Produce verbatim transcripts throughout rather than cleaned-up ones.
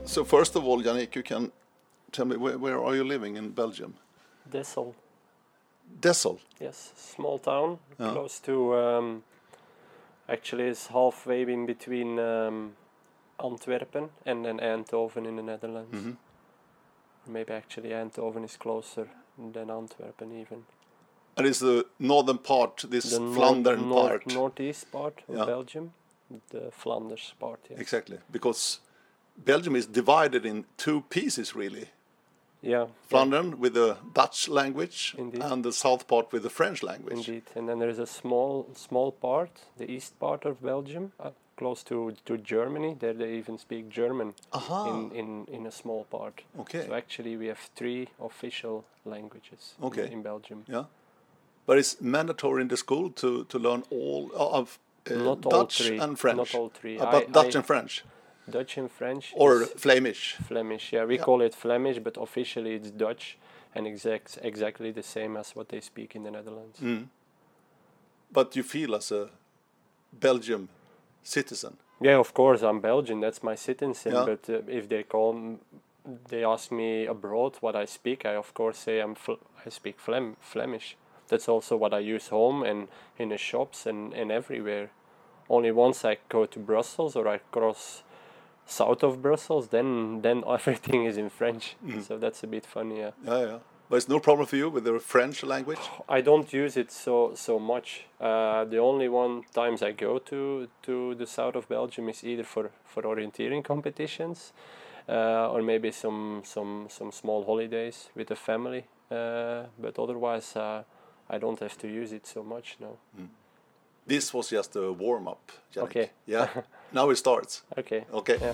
So first of all, Yannick, you can tell me where, where are you living in Belgium? Dessel. Dessel. Yes, small town, Yeah. close to. Um, actually, it's halfway in between um, Antwerpen and then Eindhoven in the Netherlands. Mm-hmm. Maybe actually Eindhoven is closer than Antwerpen even. And it's the northern part, this The nor- Flandern north, part. northeast part of Yeah. Belgium, the Flanders part. Yes. Exactly, because Belgium is divided in two pieces, really. Yeah. Flandern with the Dutch language, Indeed. and the south part with the French language. Indeed, and then there is a small small part, the east part of Belgium, uh, close to, to Germany. There they even speak German Aha. in, in, in a small part. Okay. So actually we have three official languages Okay. in, in Belgium. Yeah, but it's mandatory in the school to, to learn all of uh, Not all Dutch three. and French. Not all three. Uh, but I- Dutch I- and French, Dutch and French. or is Flemish. Flemish. Yeah, we Yeah. call it Flemish, but officially it's Dutch, and exact exactly the same as what they speak in the Netherlands. Mm. But you feel as a Belgium citizen. Yeah, of course, I'm Belgian. That's my citizen. Yeah. But uh, if they call, m- they ask me abroad what I speak, I of course say I'm fl- I speak Flem- Flemish. That's also what I use home and in the shops and, and everywhere. Only once I go to Brussels or I cross south of Brussels, then then everything is in French. Mhm. So that's a bit funny. Yeah. Yeah, yeah. But it's no problem for you with the French language. I don't use it so so much. Uh, the only one times I go to to the south of Belgium is either for, for orienteering competitions, uh, or maybe some some some small holidays with the family. Uh, but otherwise, uh, I don't have to use it so much. No. This was just a warm up. Okay. Yeah. Now it starts. Okay. Okay. Yeah.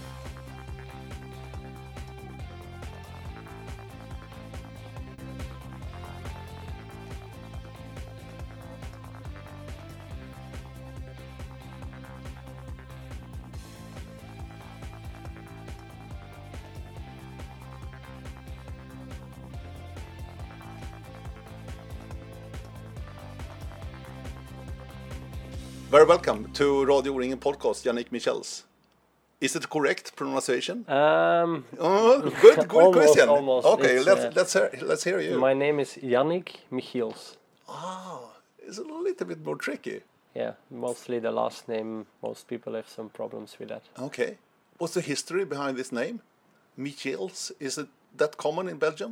Very welcome to Radio O-ringen podcast, Yannick Michels. Is it correct pronunciation? Um, Oh, good, good Almost, question. almost. Okay, It's, let's uh, let's hear let's hear you. my name is Yannick Michiels. Ah, it's a little bit more tricky. Yeah, mostly the last name. Most people have some problems with that. Okay, what's the history behind this name, Michels? Is it that common in Belgium?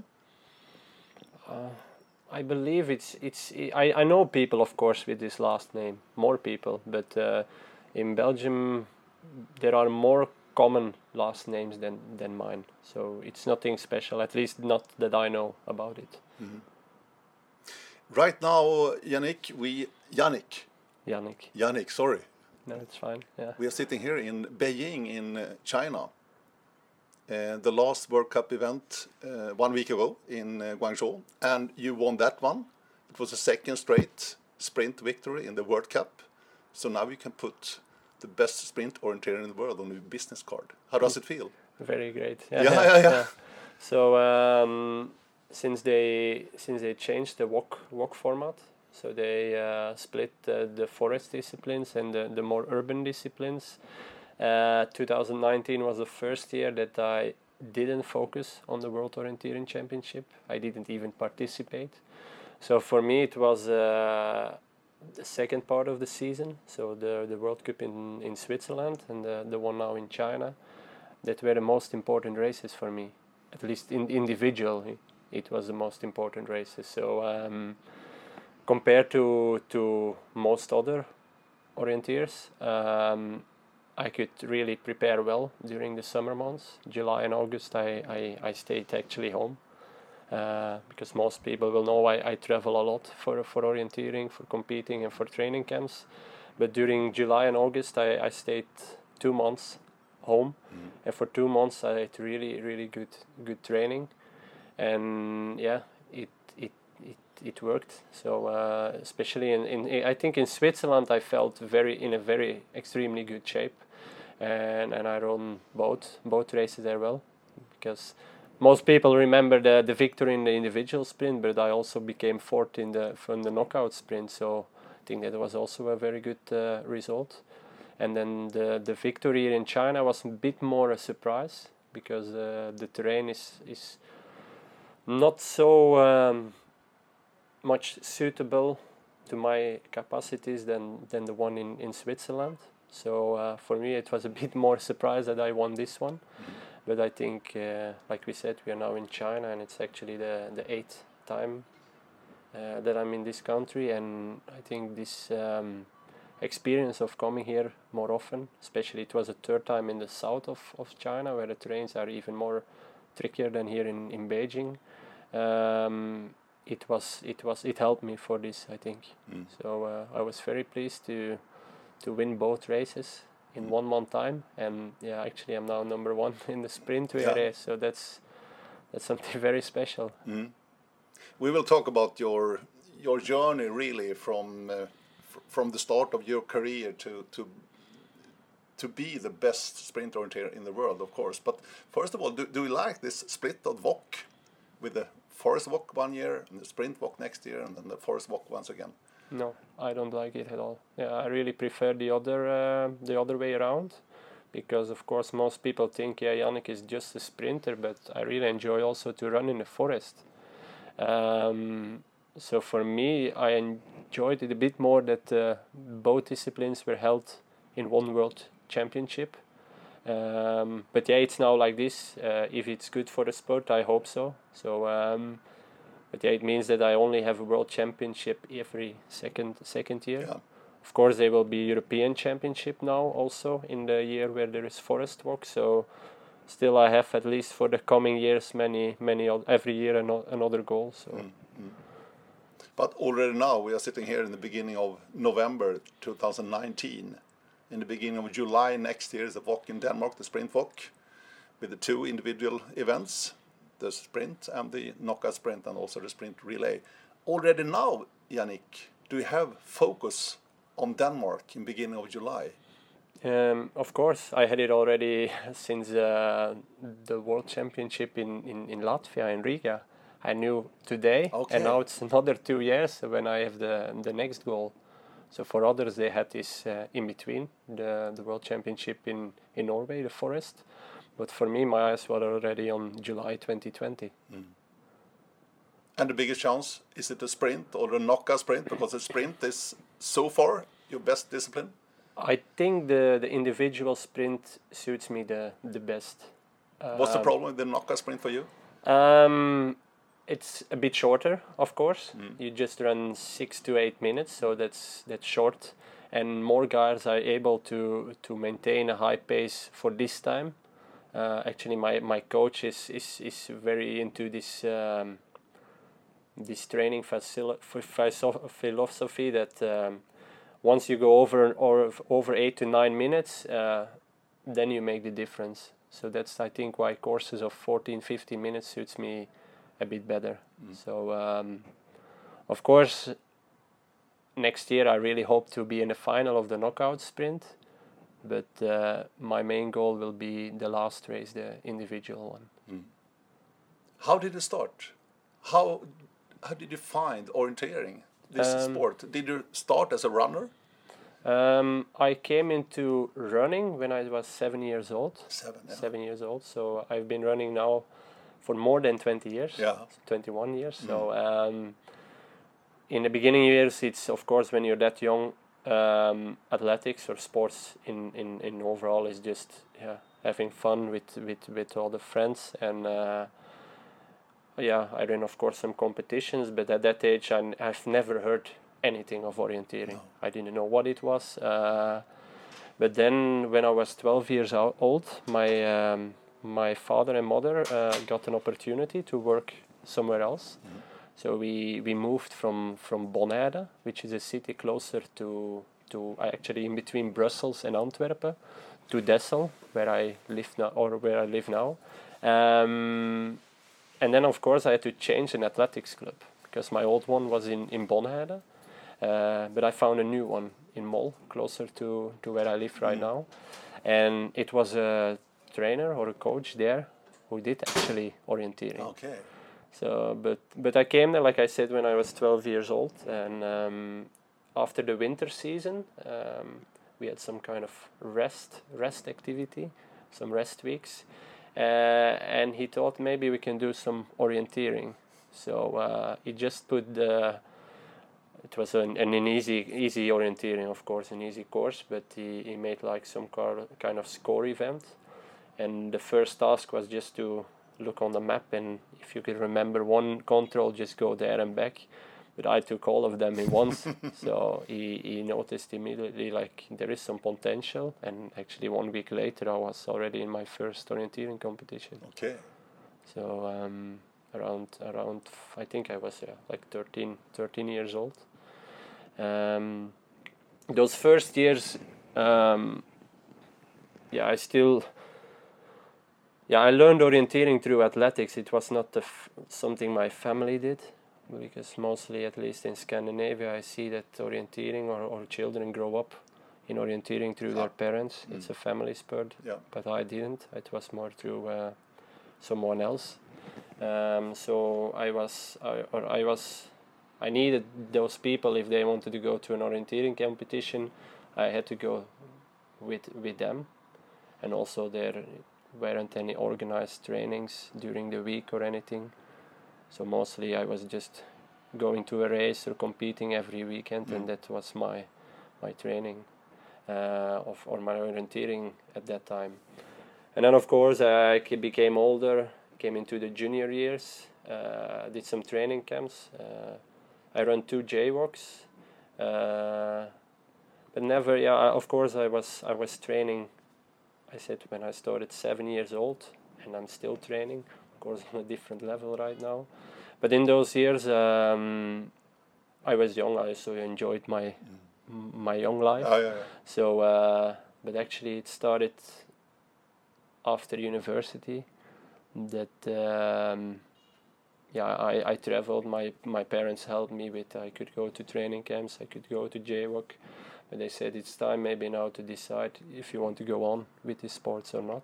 I believe it's it's. I, I know people, of course, with this last name, more people, but uh, in Belgium there are more common last names than than mine. So it's nothing special, at least not that I know about it. Right now, Yannick, we Yannick, Yannick. Yannick, sorry, No, it's fine. Yeah. we are sitting here in Beijing in uh, China. Uh, the last World Cup event uh, one week ago in uh, Guangzhou, and you won that one. It was a second straight sprint victory in the World Cup. So now you can put the best sprint orienteer in the world on your business card. How does it feel? Very great. Yeah, yeah, yeah. So um, since they since they changed the walk walk format, so they uh, split uh, the forest disciplines and the, the more urban disciplines. Uh, twenty nineteen was the first year that I didn't focus on the World Orienteering Championship. I didn't even participate. So for me it was uh, the second part of the season, so the the World Cup in, in Switzerland and the, the one now in China, that were the most important races for me. At least in individually, it was the most important races. So um, compared to to most other orienteers, um, I could really prepare well during the summer months. July and August I, I, I stayed actually home. Uh, because most people will know I, I travel a lot for, for orienteering, for competing and for training camps. But during July and August I, I stayed two months home, Mm. and for two months I had really really good good training, and yeah it it it, it worked. So uh, especially in, in I think in Switzerland I felt very in a very extremely good shape, and and I run both both races there well, because most people remember the, the victory in the individual sprint, but I also became fourth in the from the knockout sprint. So I think that was also a very good uh, result. And then the the victory in China was a bit more a surprise, because uh, the terrain is is not so um, much suitable to my capacities than than the one in in Switzerland. So uh, for me, it was a bit more surprise that I won this one. Mm-hmm. But I think, uh, like we said, we are now in China, and it's actually the the eighth time uh, that I'm in this country, and I think this um, experience of coming here more often, especially it was a third time in the south of, of China, where the terrains are even more trickier than here in in Beijing. Um, it was it was it helped me for this, I think. Mm. So uh, I was very pleased to to win both races in Mm. one month time, and yeah, actually I'm now number one in the sprint Yeah. race, so that's that's something very special. Mm. We will talk about your your journey really from uh, f- from the start of your career to to to be the best sprint orienteer in the world, of course. But first of all, do, do you like this split of V O C with the forest walk one year and the sprint walk next year and then the forest walk once again? No, I don't like it at all. Yeah, I really prefer the other uh, the other way around, because of course most people think, yeah, Yannick is just a sprinter, but I really enjoy also to run in the forest. Um, so for me, I enjoyed it a bit more that uh, both disciplines were held in one world championship. Um, but yeah, it's now like this. Uh, if it's good for the sport, I hope so. So, um, but yeah, it means that I only have a world championship every second second year. Yeah. Of course, there will be European Championship now also in the year where there is forest walk. So, still, I have at least for the coming years many many o- every year ano- another goal. So. Mm, mm. But already now we are sitting here in the beginning of November two thousand nineteen. In the beginning of July next year is the V O C in Denmark, the sprint V O C, with the two individual events, the sprint and the knockout sprint, and also the sprint relay. Already now, Yannick, do you have focus on Denmark in beginning of July? Um, of course, I had it already since uh, the World Championship in, in, in Latvia, in Riga. I knew today, Okay. and now it's another two years when I have the the next goal. So for others, they had this uh, in between the the World Championship in, in Norway, the forest. But for me, my eyes were already on July twenty twenty. Mm. And the biggest chance, is it the sprint or the knockout sprint? Because the sprint is so far your best discipline. I think the, the individual sprint suits me the, the best. What's the Um, problem with the knockout sprint for you? Um, it's a bit shorter, of course. Mm. You just run six to eight minutes, so that's that's short. And more guys are able to to maintain a high pace for this time. Uh, actually, my, my coach is, is, is very into this um, this training facil- f- philosophy that um, once you go over or over eight to nine minutes, uh, then you make the difference. So that's, I think, why courses of fourteen, fifteen minutes suits me a bit better. Mm. So, um, of course, next year I really hope to be in the final of the knockout sprint. But uh, my main goal will be the last race, the individual one. Mm. How did it start? How how did you find orienteering, this Um, sport? Did you start as a runner? Um, I came into running when I was seven years old. Seven, yeah. Seven years old. So I've been running now for more than twenty years. Yeah. twenty-one years. Mm. So um, in the beginning years, it's of course when you're that young, um, athletics or sports in, in, in overall is just yeah having fun with with, with all the friends, and uh, yeah, I ran of course some competitions, but at that age I, I've never heard anything of orienteering. No. I didn't know what it was. Uh, but then when I was twelve years o- old, my um, my father and mother uh, got an opportunity to work somewhere else. Mm. So we, we moved from, from Bonaire, which is a city closer to, to actually in between Brussels and Antwerp, to Dessel, where I live now, or where I live now. Um, and then of course I had to change an athletics club because my old one was in, in Bonaire. Uh, but I found a new one in Mol, closer to, to where I live right Mm. now. And it was a trainer or a coach there who did actually orienteering. Okay. So, but but I came there, like I said, when I was twelve years old, and um, after the winter season, um, we had some kind of rest rest activity, some rest weeks, uh, and he thought maybe we can do some orienteering. So uh, he just put the. It was an, an easy easy orienteering, of course, an easy course, but he, he made like some car, kind of score event, and the first task was just to look on the map, and if you could remember one control, just go there and back. But I took all of them in once, so he, he noticed immediately like there is some potential, and actually one week later I was already in my first orienteering competition. Okay. So um, around around I think I was yeah, like thirteen, thirteen years old. Um, those first years, um, yeah, I still. Yeah, I learned orienteering through athletics. It was not the f- something my family did, because mostly, at least in Scandinavia, I see that orienteering or, or children grow up in orienteering through ah. their parents. Mm. It's a family sport, yeah. But I didn't. It was more through uh, someone else. Um, so I was, I, or I was, I needed those people if they wanted to go to an orienteering competition. I had to go with with them, and also there weren't any organized trainings during the week or anything. So mostly I was just going to a race or competing every weekend, mm. and that was my my training uh, of or my orienteering at that time. And then of course I became older, came into the junior years, uh, did some training camps. Uh, I ran two J-walks, uh, but never. Yeah, of course I was I was training. I said when I started seven years old, and I'm still training. Of course, on a different level right now. But in those years, um, I was young. I also enjoyed my mm. my young life. Oh, yeah, yeah. So, uh, but actually, it started after university. That um, yeah, I, I traveled. My my parents helped me with. I could go to training camps. I could go to J-walk. But they said it's time maybe now to decide if you want to go on with these sports or not.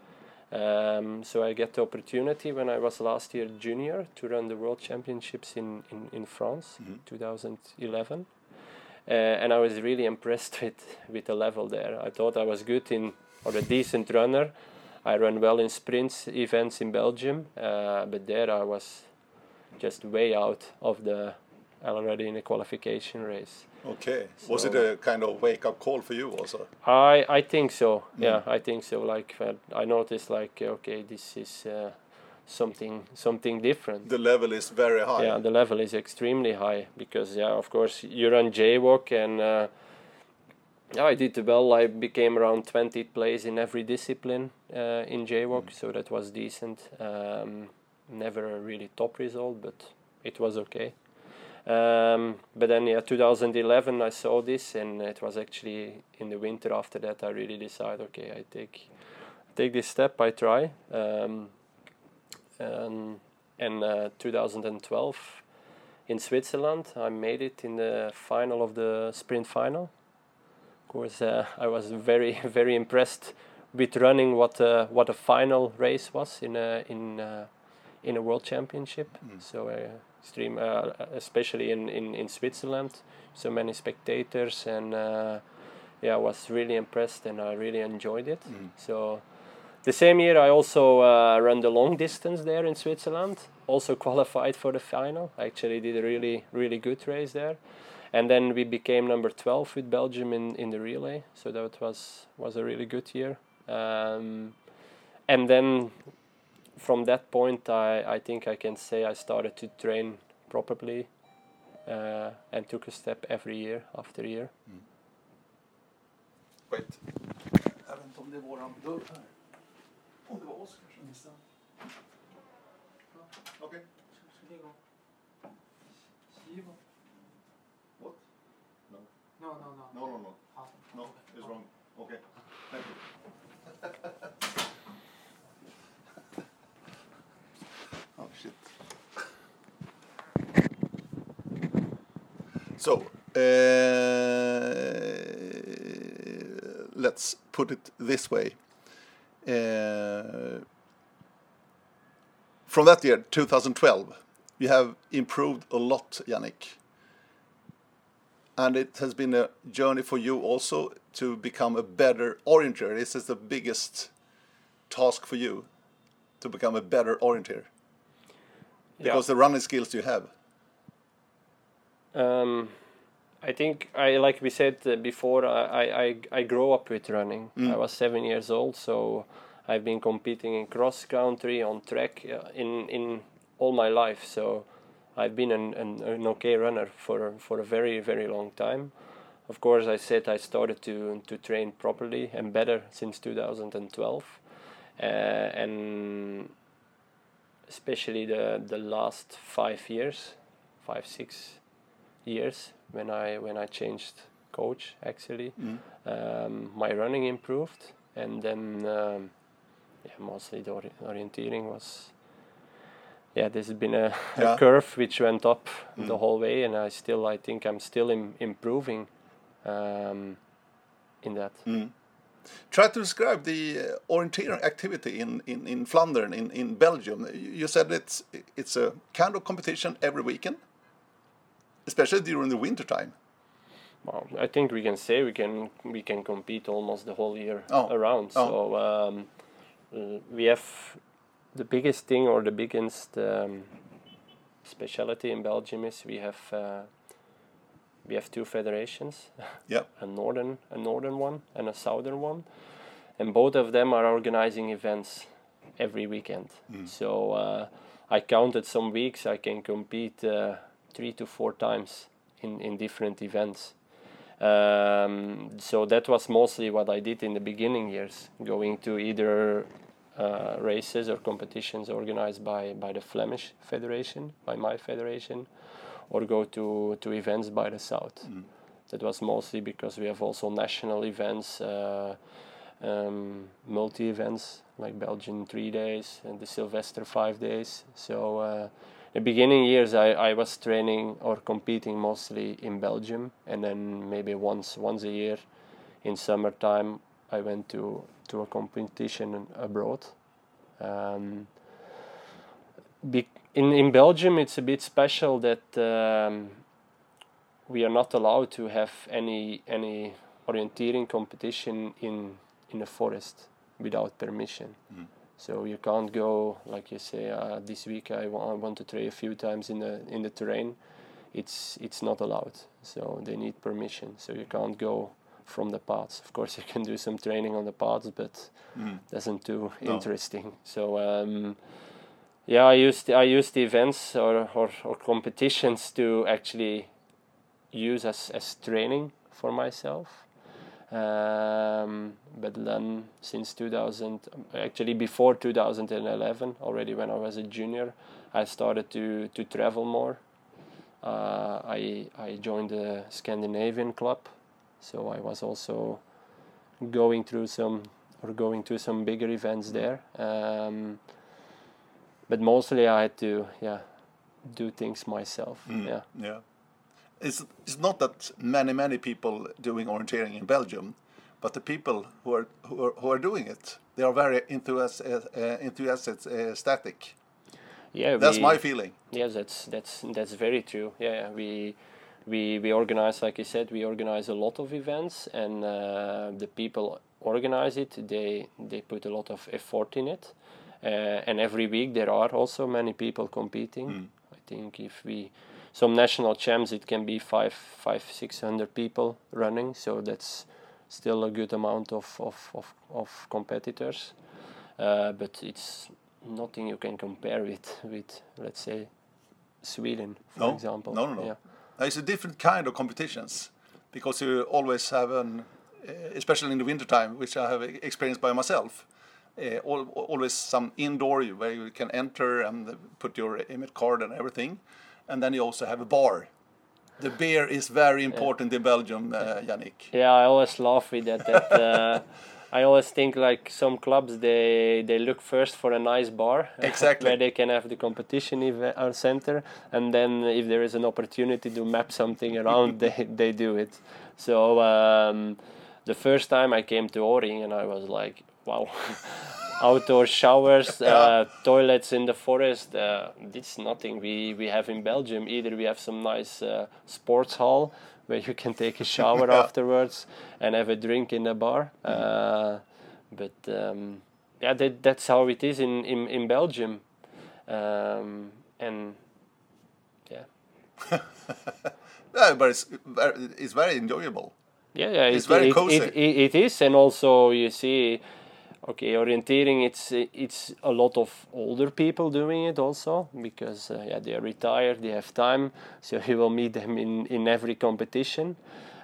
Um, so I get the opportunity when I was last year junior to run the World Championships in, in, in France, mm-hmm. twenty eleven. Uh, and I was really impressed with, with the level there. I thought I was good in, or a decent runner. I ran well in sprints events in Belgium, uh, but there I was just way out of the, already in the qualification race. Okay. So was it a kind of wake-up call for you also? I I think so. Mm. Yeah, I think so. Like uh, I noticed, like okay, this is uh, something something different. The level is very high. Yeah, the level is extremely high because yeah, of course you run J-walk and uh, yeah, I did well. I became around twentieth place in every discipline uh, in J-walk, mm. so that was decent. Um, never a really top result, but it was okay. Um, but then, yeah, twenty eleven, I saw this, and it was actually in the winter after that I really decided, okay, I take take this step, I try. Um, and in uh, twenty twelve, in Switzerland, I made it in the final of the sprint final. Of course, uh, I was very, very impressed with running what uh, what a final race was in a in a, in a World Championship. Mm. So. Uh, Extreme, uh, especially in, in, in Switzerland, so many spectators, and uh, yeah, I was really impressed and I really enjoyed it. Mm. So the same year I also uh, ran the long distance there in Switzerland, also qualified for the final. I actually did a really, really good race there. And then we became number twelve with Belgium in, in the relay, so that was, was a really good year. Um, and then from that point, I, I think I can say I started to train properly uh, and took a step every year after year. Mm. Wait. Jag vet inte om det är våran dörr här. Om det var oss kanske. Okej. What? No. No, no, no. No, no, no. No, it's wrong. Okay. Thank you. Oh shit. So, uh, let's put it this way. Uh, from that year, twenty twelve, you have improved a lot, Yannick. And it has been a journey for you also to become a better orienter. This is the biggest task for you. to become a better orienteer? Because Yeah. the running skills you have. Um, I think I like we said uh, before. I, I I grew up with running. Mm. I was seven years old, so I've been competing in cross country, on track, uh, in in all my life. So I've been an, an an okay runner for for a very very long time. Of course, I said I started to to train properly and better since two thousand twelve, uh, and especially the the last five years, five six years when I when I changed coach actually, Mm. um, my running improved, and then um, yeah, mostly the ori- orienteering was. Yeah, this has been a, Yeah. a curve which went up Mm. the whole way, and I still I think I'm still im- improving um, in that. Mm. Try to describe the uh, orienteering activity in, in, in Flandern, in, in Belgium. You said it's it's a kind of competition every weekend, especially during the winter time. Well, I think we can say we can we can compete almost the whole year Oh. around. Oh. So um, uh, we have the biggest thing or the biggest um, specialty in Belgium is we have uh, we have two federations, Yeah. a northern a northern one and a southern one, and both of them are organizing events every weekend. Mm. So uh, I counted some weeks I can compete uh, three to four times in in different events. Um, so that was mostly what I did in the beginning years, going to either uh, races or competitions organized by, by the Flemish Federation, by my federation, or go to, to events by the South. Mm. That was mostly because we have also national events, uh, um, multi-events like Belgian three days and the Sylvester five days. So uh, the beginning years I, I was training or competing mostly in Belgium, and then maybe once once a year in summertime I went to, to a competition abroad. Um, be, in, in Belgium it's a bit special that um, we are not allowed to have any any orienteering competition in in the forest without permission. Mm. So you can't go, like you say, uh, this week I, wa- I want to train a few times in the in the terrain. It's it's not allowed. So they need permission. So you can't go from the paths. Of course, you can do some training on the paths, but Mm. doesn't too No. interesting. So um, yeah, I used I used the events or, or, or competitions to actually use as, as training for myself. Um, but then since two thousand, actually before two thousand eleven, already when I was a junior, I started to, to travel more. Uh, I I joined the Scandinavian club, so I was also going through some or going to some bigger events there. Um, but mostly I had to yeah do things myself. Mm. Yeah. Yeah. It's, it's not that many, many people doing orienteering in Belgium, but the people who are who are, who are doing it, they are very enthusiastic. Uh, enthusiastic. Yeah, That's we, my feeling. Yes, that's that's that's very true. Yeah, yeah, we we we organize, like you said, we organize a lot of events, and uh, the people organize it. They they put a lot of effort in it, uh, and every week there are also many people competing. Mm. I think if we some national champs, it can be five five six hundred people running. So that's still a good amount of of of, of competitors, uh, but it's nothing you can compare with with let's say Sweden, for No, example. no, no, no. Yeah. It's a different kind of competitions because you always have an, uh, especially in the winter time, which I have experienced by myself. Uh, al always some indoor where you can enter and put your emit card and everything, and then you also have a bar. The beer is very important in Belgium, uh, Yannick. Yeah, I always laugh with that. that uh, I always think like some clubs they they look first for a nice bar Exactly. where they can have the competition event or center, and then if there is an opportunity to map something around, they they do it. So um, the first time I came to Åring, and I was like, wow. Outdoor showers, Yeah. uh, toilets in the forest. Uh, it's nothing we, we have in Belgium. Either we have some nice uh, sports hall where you can take a shower Yeah. afterwards and have a drink in the bar. Uh, but um, yeah, that, that's how it is in in, in Belgium, um, and yeah. Yeah, but it's very, it's very enjoyable. Yeah, yeah, It's it, very it, cozy. it, it, it is, and also you see, okay, orienteering. It's it's a lot of older people doing it also because uh, yeah, they are retired, they have time, so you will meet them in in every competition.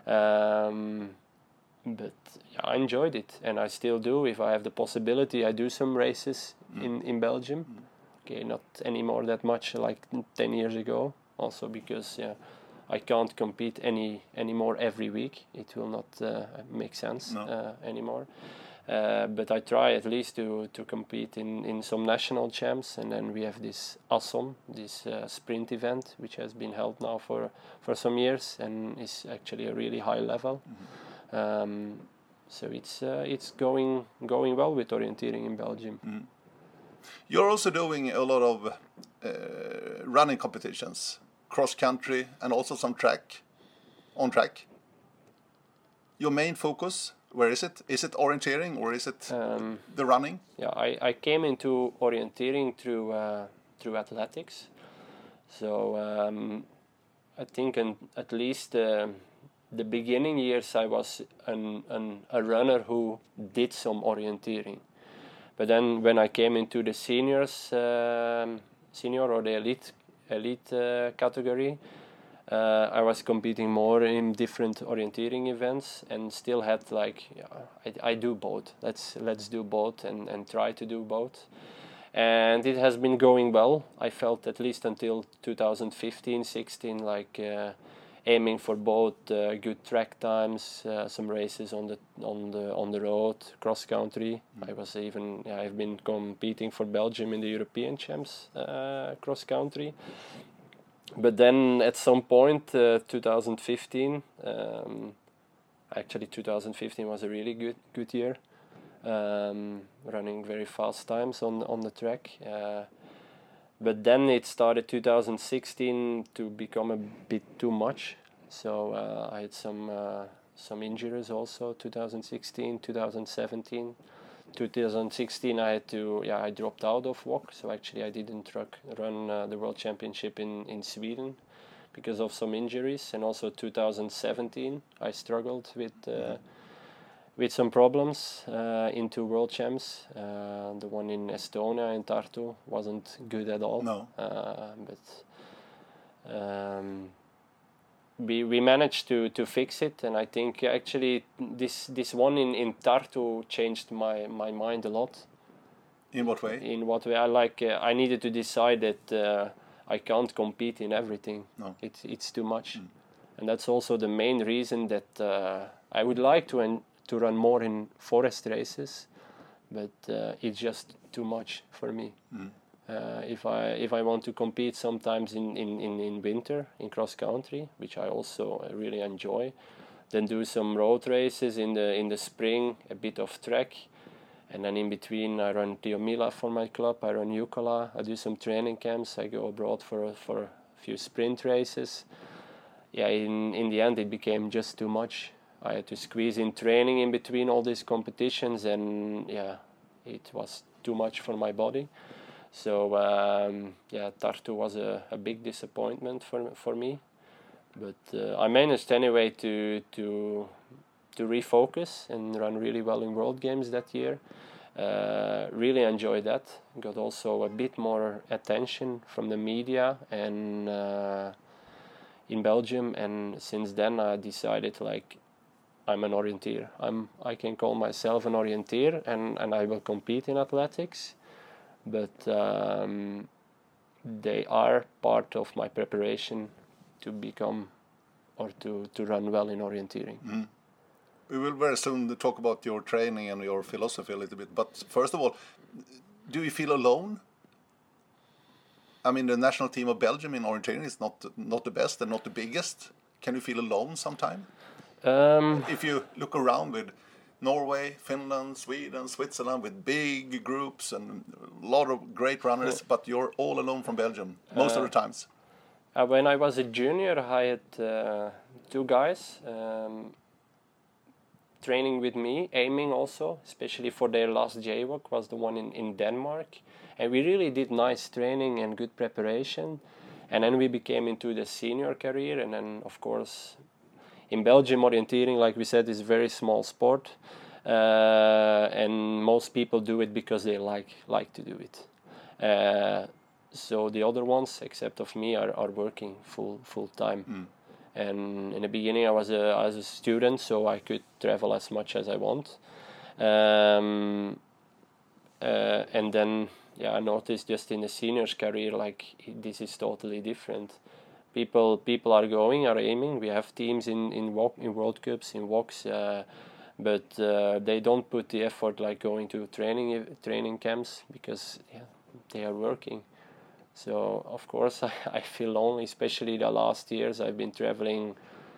Um, but yeah, I enjoyed it, and I still do. If I have the possibility, I do some races mm. in in Belgium. Mm. Okay, not anymore that much like ten years ago. Also because yeah. I can't compete any anymore every week. It will not uh, make sense no. uh, anymore. Uh, but I try at least to, to compete in, in some national champs, and then we have this ASSOM, this uh, sprint event, which has been held now for, for some years and is actually a really high level. Mm-hmm. Um, so it's uh, it's going going well with orienteering in Belgium. Mm. You're also doing a lot of uh, running competitions. Cross country and also some track, on track. Your main focus, where is it? Is it orienteering or is it um, the running? Yeah, I, I came into orienteering through uh, through athletics. So um, I think in, at least uh, the beginning years I was an, an, a runner who did some orienteering. But then when I came into the seniors, um, senior or the elite elite uh, category, uh, I was competing more in different orienteering events and still had like yeah, I, I do both. Let's let's do both and, and try to do both. And it has been going well. I felt at least until two thousand fifteen, sixteen like uh, aiming for both uh, good track times, uh, some races on the on the on the road, cross country. Mm. I was even yeah, I've been competing for Belgium in the European Champs uh, cross country. But then at some point, uh, two thousand fifteen, um, actually two thousand fifteen was a really good good year, um, running very fast times on on the track. Uh, But then it started two thousand sixteen to become a bit too much. So uh, I had some uh, some injuries also. two thousand sixteen, two thousand seventeen, two thousand sixteen I had to yeah I dropped out of W O C. So actually I didn't truck, run uh, the World Championship in in Sweden because of some injuries. And also two thousand seventeen I struggled with. Uh, with some problems uh, into World Champs. Uh, the one in Estonia, in Tartu, wasn't good at all. No. Uh, but um, we we managed to, to fix it, and I think actually this this one in, in Tartu changed my, my mind a lot. In what way? In what way? I like. Uh, I needed to decide that uh, I can't compete in everything. No. It's it's too much, mm. and that's also the main reason that uh, I would like to. En- to run more in forest races, but uh, it's just too much for me. Mm. Uh, if I if I want to compete sometimes in, in, in, in winter in cross country, which I also really enjoy, then do some road races in the in the spring, a bit of track, and then in between I run Tiomila for my club, I run Jukola, I do some training camps, I go abroad for for a few sprint races. Yeah, in in the end it became just too much. I had to squeeze in training in between all these competitions, and yeah, it was too much for my body. So um, yeah, Tartu was a, a big disappointment for for me, but uh, I managed anyway to to to refocus and run really well in World Games that year. Uh, really enjoyed that. Got also a bit more attention from the media and uh, in Belgium, and since then I decided like. I'm an orienteer. I'm. I can call myself an orienteer, and, and I will compete in athletics, but um, they are part of my preparation to become or to, to run well in orienteering. Mm. We will very soon talk about your training and your philosophy a little bit, but first of all, do you feel alone? I mean, the national team of Belgium in orienteering is not not the best and not the biggest. Can you feel alone sometime? Um, if you look around with Norway, Finland, Sweden, Switzerland, with big groups and a lot of great runners, yeah. But you're all alone from Belgium most uh, of the times. Uh, when I was a junior, I had uh, two guys. Um, training with me, aiming also, especially for their last J W O C was the one in, in Denmark. And we really did nice training and good preparation. And then we became into the senior career. And then, of course, in Belgium, orienteering, like we said, is a very small sport. Uh, and most people do it because they like like to do it. Uh, so the other ones, except of me, are, are working full full time. Mm. And in the beginning, I was a I was a student, so I could travel as much as I want. Um, uh, and then, yeah, I noticed just in the seniors career, like this is totally different. People people are going, are aiming. We have teams in in walk, in World Cups, in W O Cs. Uh, But uh, they don't put the effort like going to training training camps because yeah, they are working. So of course I, I feel lonely, especially the last years. I've been traveling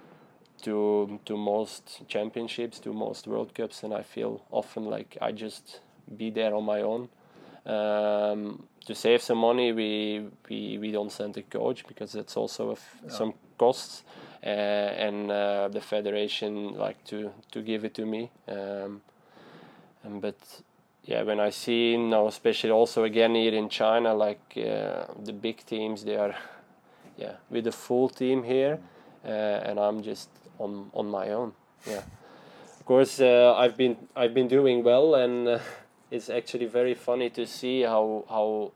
to to most championships, to most World Cups, and I feel often like I just be there on my own. Um, to save some money, we we, we don't send a coach because that's also a f- yeah. some costs. Uh, and uh, the federation like to, to give it to me, um, and but yeah, when I see now, especially also again here in China, like uh, the big teams, they are yeah with a full team here, uh, and I'm just on on my own. Yeah, of course uh, I've been I've been doing well, and uh, it's actually very funny to see how how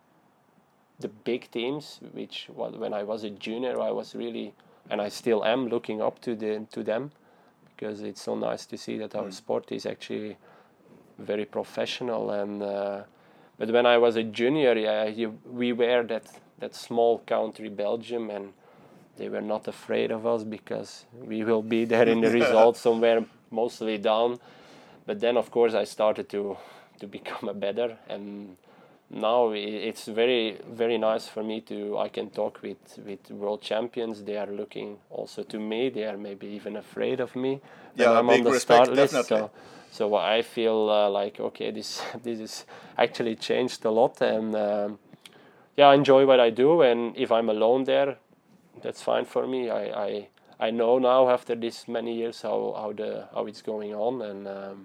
the big teams, which well, when I was a junior, I was really. And I still am looking up to the to them because it's so nice to see that our mm. sport is actually very professional. And uh, but when I was a junior, yeah, you, we were that that small country, Belgium, and they were not afraid of us because we will be there in the results somewhere mostly down. But then, of course, I started to to become a better and. Now it's very very nice for me to I can talk with, with world champions. They are looking also to me. They are maybe even afraid of me. Yeah, I'm big on the respect, start list. definitely. So, so I feel uh, like okay, this this is actually changed a lot, and um, yeah, I enjoy what I do. And if I'm alone there, that's fine for me. I I, I know now after this many years how, how the how it's going on, and um,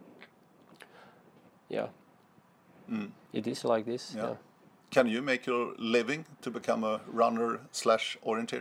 yeah. Mm. It is like this. Yeah. Yeah. Can you make your living to become a runner slash orienteer?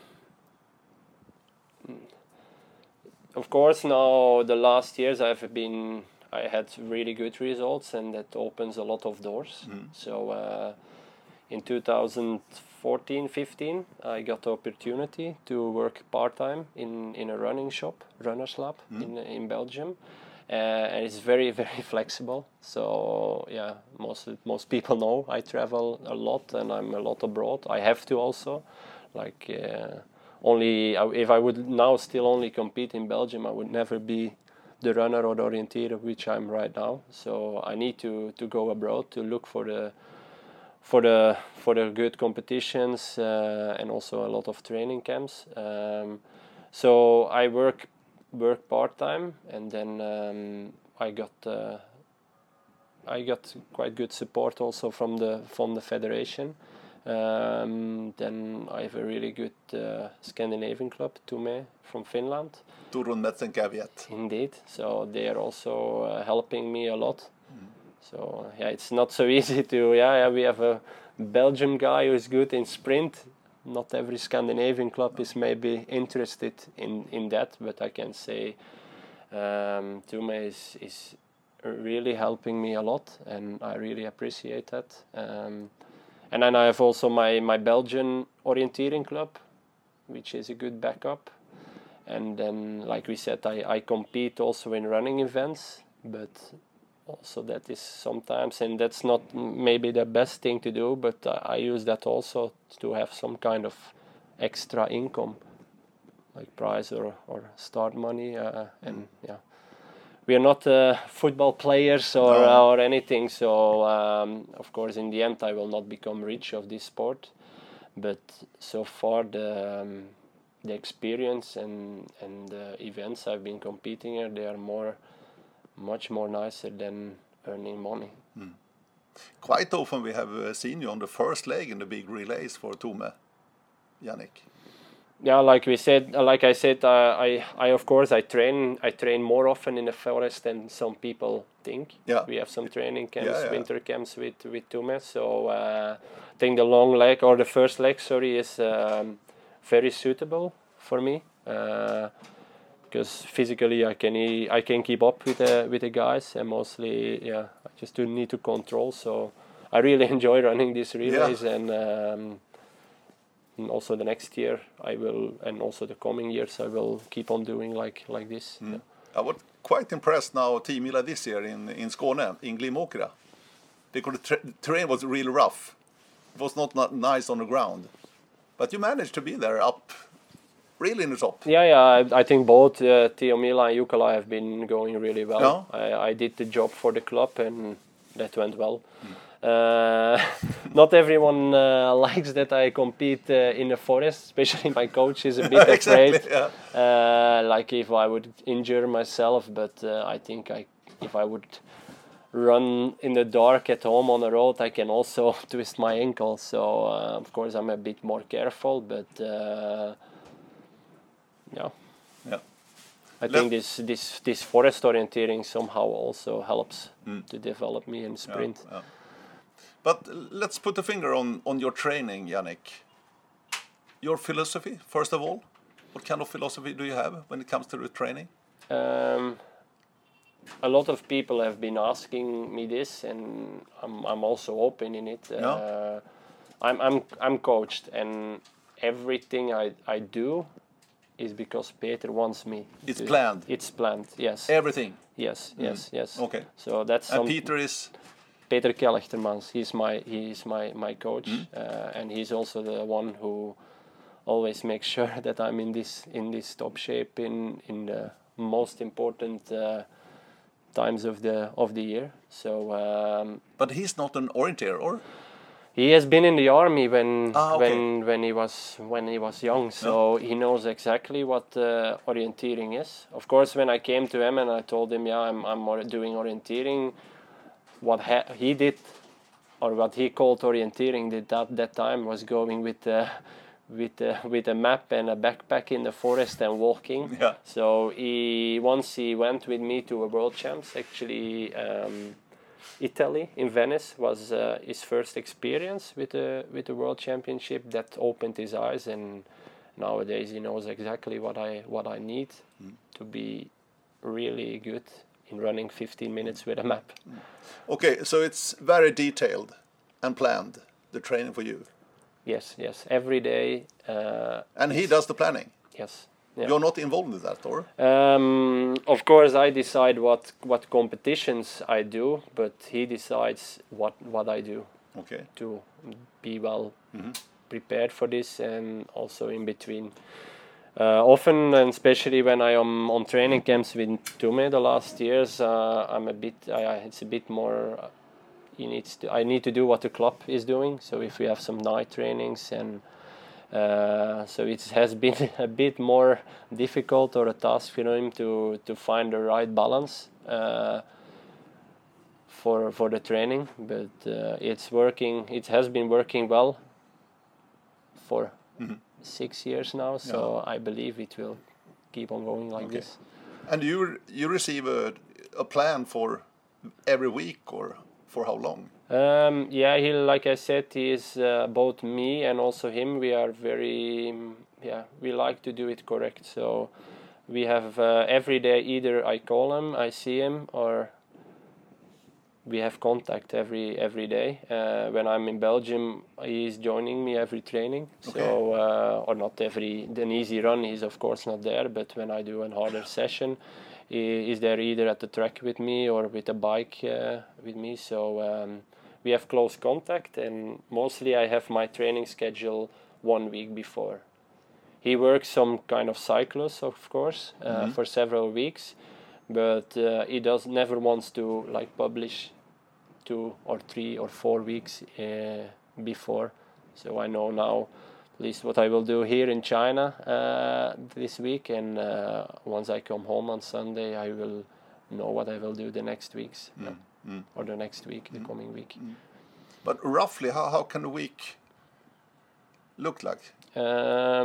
Of course, now the last years I've been, I had really good results, and that opens a lot of doors. Mm. So uh, in two thousand fourteen fifteen, I got the opportunity to work part time in, in a running shop, Runners Lab, mm. in in Belgium. Uh, and it's very very flexible. So yeah, most most people know I travel a lot and I'm a lot abroad. I have to also, like uh, only if I would now still only compete in Belgium, I would never be the runner or the orienteer which I'm right now. So I need to, to go abroad to look for the for the for the good competitions uh, and also a lot of training camps. Um, so I work. work part-time, and then um, I got uh, I got quite good support also from the from the federation. Um, then I have a really good uh, Scandinavian club, Tume from Finland. Turun Metsenkävijät. Indeed, so they are also uh, helping me a lot. Mm. So yeah, it's not so easy to yeah, yeah we have a Belgian guy who is good in sprint. Not every Scandinavian club is maybe interested in, in that, but I can say um, Tume is, is really helping me a lot, and I really appreciate that. Um, and then I have also my, my Belgian orienteering club, which is a good backup. And then, like we said, I, I compete also in running events, but also that is sometimes, and that's not maybe the best thing to do, but uh, I use that also to have some kind of extra income, like prize or, or start money, uh, and mm. yeah, we are not uh, football players or no. uh, or anything, so um, of course in the end I will not become rich of this sport, but so far the um, the experience and and the events I've been competing in, they are more much more nicer than earning money. Mm. Quite often we have uh, seen you on the first leg in the big relays for Tume, Yannick. Yeah, like we said, like I said, uh, I, I of course I train, I train more often in the forest than some people think. Yeah. We have some training camps, Yeah, yeah. winter camps with with Tume. So uh, I think the long leg or the first leg, sorry, is um, very suitable for me because uh, physically I can e- I can keep up with the with the guys, and mostly yeah I just do need to control. So I really enjoy running these relays Yeah. and. Um, And also the next year I will, and also the coming years I will keep on doing like like this. Mm. Yeah. I was quite impressed now, Team Mila this year in in Skåne, in Glimåkra. Because the tra- terrain was really rough. It was not, not nice on the ground. But you managed to be there up, really in the top. Yeah, yeah. I, I think both uh, Theo Mila and Jukala have been going really well. Yeah. I, I did the job for the club and that went well. Mm. Uh, not everyone uh, likes that I compete uh, in the forest, especially my coach is a bit exactly, afraid. Yeah. Uh, like if I would injure myself, but uh, I think I, if I would run in the dark at home on the road, I can also twist my ankle. So uh, of course I'm a bit more careful, but uh, yeah. Yeah. I think this this this forest orienteering somehow also helps mm. to develop me in sprint. Yeah, yeah. But let's put a finger on, on your training, Yannick. Your philosophy, first of all. What kind of philosophy do you have when it comes to the training? Um, a lot of people have been asking me this, and I'm I'm also open in it. Yeah. Uh, I'm I'm I'm coached, and everything I I do is because Peter wants me. It's to, planned. It's planned. Yes. Everything. Yes. Mm. Yes. Yes. Okay. So that's. And Peter is. Peter Kelechtermans, he's my he's my my coach, mm. uh, and he's also the one who always makes sure that I'm in this in this top shape in in the most important uh, times of the of the year. So, um, but he's not an orienteer, or he has been in the army when ah, okay. when when he was when he was young, so yeah. He knows exactly what uh, orienteering is. Of course, when I came to him and I told him, yeah, I'm I'm doing orienteering. What ha- he did, or what he called orienteering, did at that time was going with uh, with uh, with a map and a backpack in the forest and walking. Yeah. So he once he went with me to a world champs. Actually, um, Italy in Venice was uh, his first experience with the with the world championship. That opened his eyes, and nowadays he knows exactly what I what I need mm. to be really good in running fifteen minutes with a map. Okay, so it's very detailed and planned, the training for you. Yes, yes, every day. Uh, and he does the planning? Yes. Yeah. You're not involved in that, or? Um, of course, I decide what, what competitions I do, but he decides what, what I do. Okay. To be well mm-hmm. prepared for this, and also in between. Uh, often, and especially when I am on training camps with Tume the last years, uh, I'm a bit. I, it's a bit more. Uh, he needs to. I need to do what the club is doing. So if we have some night trainings, and uh, so it has been a bit more difficult or a task for him to to find the right balance uh, for for the training. But uh, it's working. It has been working well for. Mm-hmm. six years now, so yeah. I believe it will keep on going like okay. this. And you you receive a, a plan for every week, or for how long? Um, yeah, he, like I said, he is uh, both me and also him. We are very, yeah, we like to do it correct. So we have uh, every day either I call him, I see him, or we have contact every every day. Uh, when I'm in Belgium, he's joining me every training. Okay. So, uh, or not every, an easy run, he's of course not there, but when I do a harder session, he is there either at the track with me or with a bike uh, with me. So um, we have close contact, and mostly I have my training schedule one week before. He works some kind of cyclus, of course, uh, mm-hmm. for several weeks, but uh, he does never wants to like publish two or three or four weeks uh, before. So I know now at least what I will do here in China uh, this week, and uh, once I come home on Sunday, I will know what I will do the next weeks, mm. Yeah. Mm. or the next week, mm. the coming week. Mm. But roughly, how, how can a week look like? Um,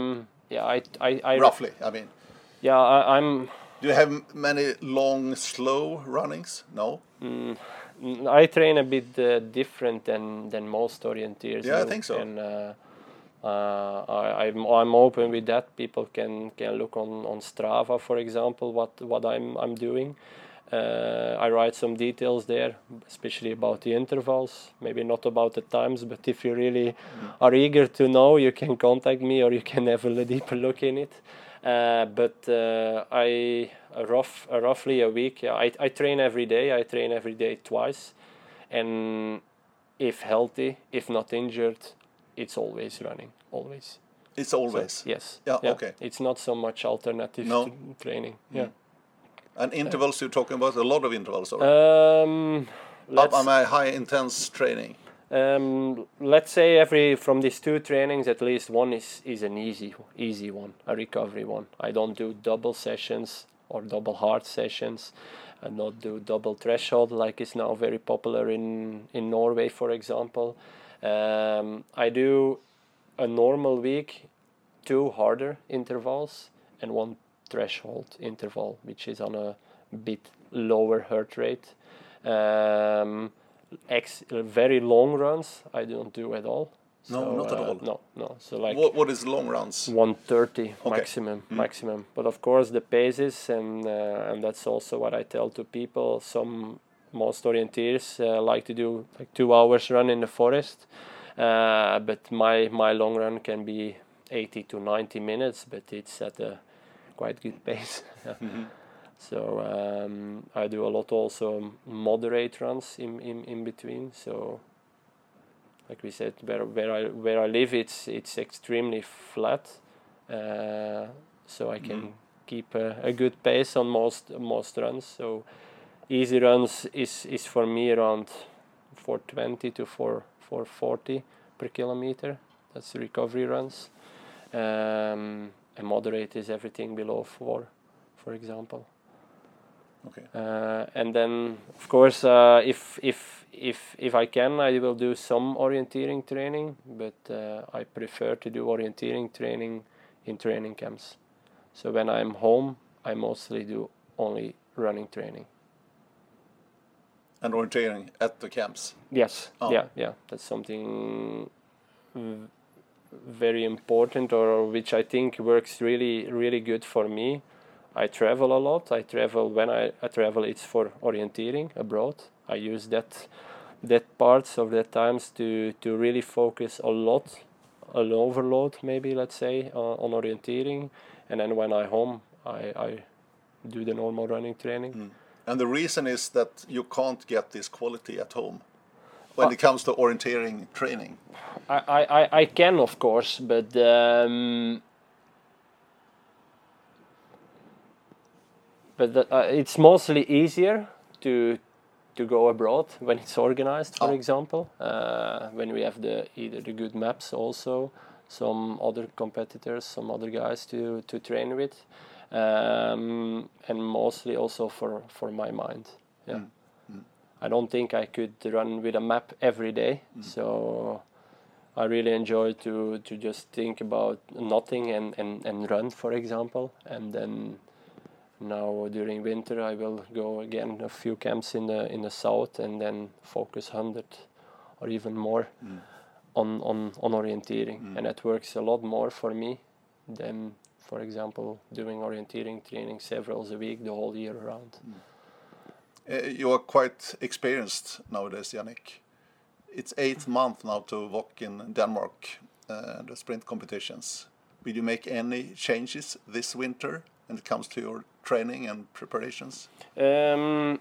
yeah, I, I, I Roughly, I mean. Yeah, I, I'm. Do you have many long, slow runnings? No. Mm, I train a bit uh, different than than most orienteers. Yeah, do. I think so. And uh, uh, I, I'm I'm open with that. People can, can look on, on Strava, for example, what what I'm I'm doing. Uh, I write some details there, especially about the intervals. Maybe not about the times, but if you really mm. are eager to know, you can contact me, or you can have a deeper look in it. Uh, but uh, I a rough uh, roughly a week. Yeah, I I train every day. I train every day twice, and if healthy, if not injured, it's always running. Always. It's always. So, yes. Yeah, yeah. Okay. It's not so much alternative no. to training. Mm. Yeah. And intervals you're talking about? A lot of intervals, or? Um, let's, Am I high intense training? Um, let's say every from these two trainings, at least one is, is an easy easy one, a recovery one. I don't do double sessions or double hard sessions. I don't do double threshold like is now very popular in, in Norway, for example. Um, I do a normal week, two harder intervals and one threshold interval, which is on a bit lower heart rate. Um, ex- very long runs I don't do at all. No, so, not at uh, all. No, no. So like what, what is long runs? one thirty okay. maximum, mm. maximum. But of course the paces, and uh, and that's also what I tell to people. Some most orienteers uh, like to do like two hours run in the forest, uh, but my my long run can be eighty to ninety minutes, but it's at a quite good pace. mm-hmm. So um, I do a lot also moderate runs in, in, in between. So like we said, where where I where I live, it's it's extremely flat, uh, so I can mm. keep a, a good pace on most most runs. So easy runs is, is for me around four twenty to four forty per kilometer. That's recovery runs. Um, and moderate is everything below four, for example. Okay. Uh, and then, of course, uh, if if if if I can, I will do some orienteering training, but uh, I prefer to do orienteering training in training camps. So when I'm home, I mostly do only running training. And orienteering at the camps? Yes. Oh. Yeah. Yeah. That's something v- very important, or which I think works really really good for me. I travel a lot. I travel when I, I travel. It's for orienteering abroad. I use that that parts of that times to to really focus a lot, an overload maybe, let's say, uh, on orienteering, and then when I home, I, I do the normal running training. Mm. And the reason is that you can't get this quality at home when uh, it comes to orienteering training. I I, I can, of course, but. Um, But the, uh, it's mostly easier to to go abroad when it's organized, for oh. example. Uh, when we have the either the good maps, also some other competitors, some other guys to, to train with, um, and mostly also for, for my mind. Yeah, mm. Mm. I don't think I could run with a map every day, mm. so I really enjoy to to just think about nothing and, and, and run, for example, and then. Now during winter I will go again a few camps in the in the south and then focus one hundred or even more mm. on, on, on orienteering. Mm. And that works a lot more for me than, for example, doing orienteering training several a week the whole year around. Mm. Uh, you are quite experienced nowadays, Yannick. It's eighth month now to walk in Denmark, uh, the sprint competitions. Will you make any changes this winter when it comes to your training and preparations? Um,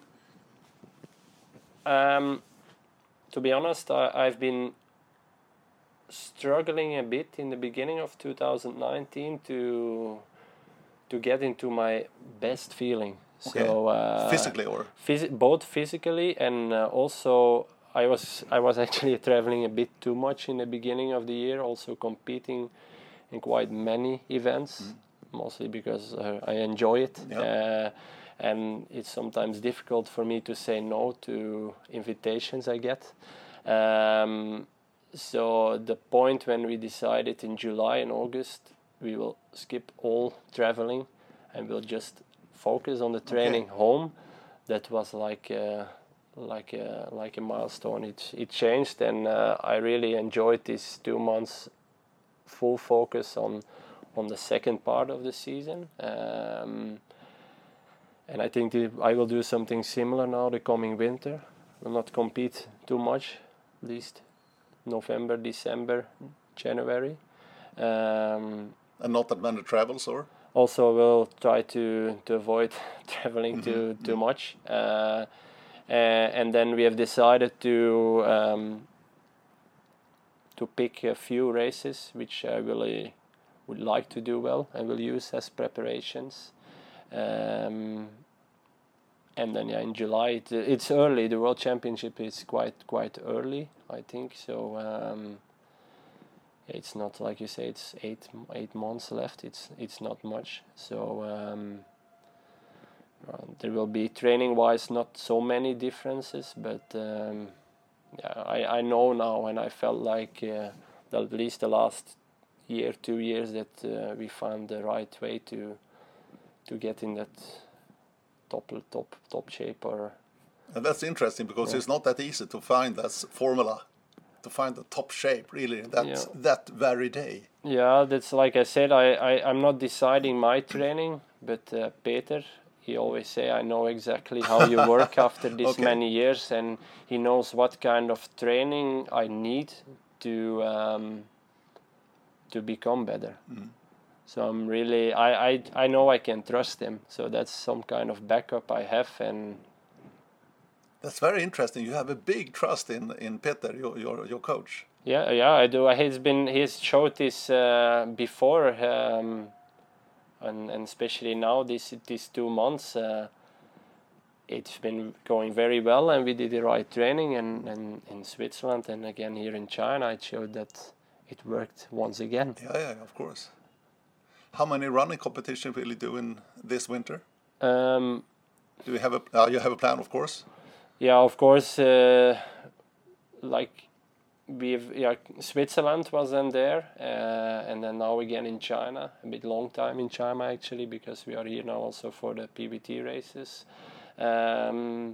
um, to be honest, I, I've been struggling a bit in the beginning of two thousand nineteen to to get into my best feeling. Okay. So uh, physically, or phys- both physically and uh, also I was I was actually traveling a bit too much in the beginning of the year, also competing in quite many events. Mm. Mostly because uh, I enjoy it, yeah. uh, and it's sometimes difficult for me to say no to invitations I get. Um, so the point when we decided in July and August we will skip all traveling, and we'll just focus on the training Okay. home. That was like a, like a, like a milestone. It it changed, and uh, I really enjoyed these two months full focus on on the second part of the season. Um, and I think the, I will do something similar now the coming winter. Will not compete too much, at least November, December, January. Um, And not that many travels, or? also, we'll try to, to avoid traveling Mhm, too too mhm. much. Uh, uh, and then we have decided to um, to pick a few races which I really would like to do well and will use as preparations. Um, and then yeah, in July it, it's early. The World Championship is quite quite early, I think. So um, it's not like you say. It's eight eight months left. It's it's not much. So um, uh, there will be training wise not so many differences, but um, yeah, I I know now, and I felt like uh, at least the last year, two years, that uh, we found the right way to to get in that top top top shape. Or And that's interesting because Yeah. it's not that easy to find that s- formula, to find the top shape really that Yeah. that very day. yeah, that's like I said. I, I I'm not deciding my training, but uh, Peter, he always say I know exactly how you work after this Okay. many years, and he knows what kind of training I need to um, to become better. Mm. So I'm really I, I I know I can trust him. So that's some kind of backup I have, and That's very interesting. You have a big trust in in Peter, your your, your coach. yeah, yeah, I do. He's been he's showed this uh, before, um, and and especially now these these two months, uh, it's been going very well, and we did the right training, and, and in Switzerland, and again here in China, it showed that it worked once again. Yeah, yeah, of course. How many running competitions will you do in this winter? Um, Do you have a uh, you have a plan, of course? yeah, of course, uh, like we've yeah, Switzerland was then there, uh, and then now again in China, a bit long time in China actually, because we are here now also for the P B T races. Um,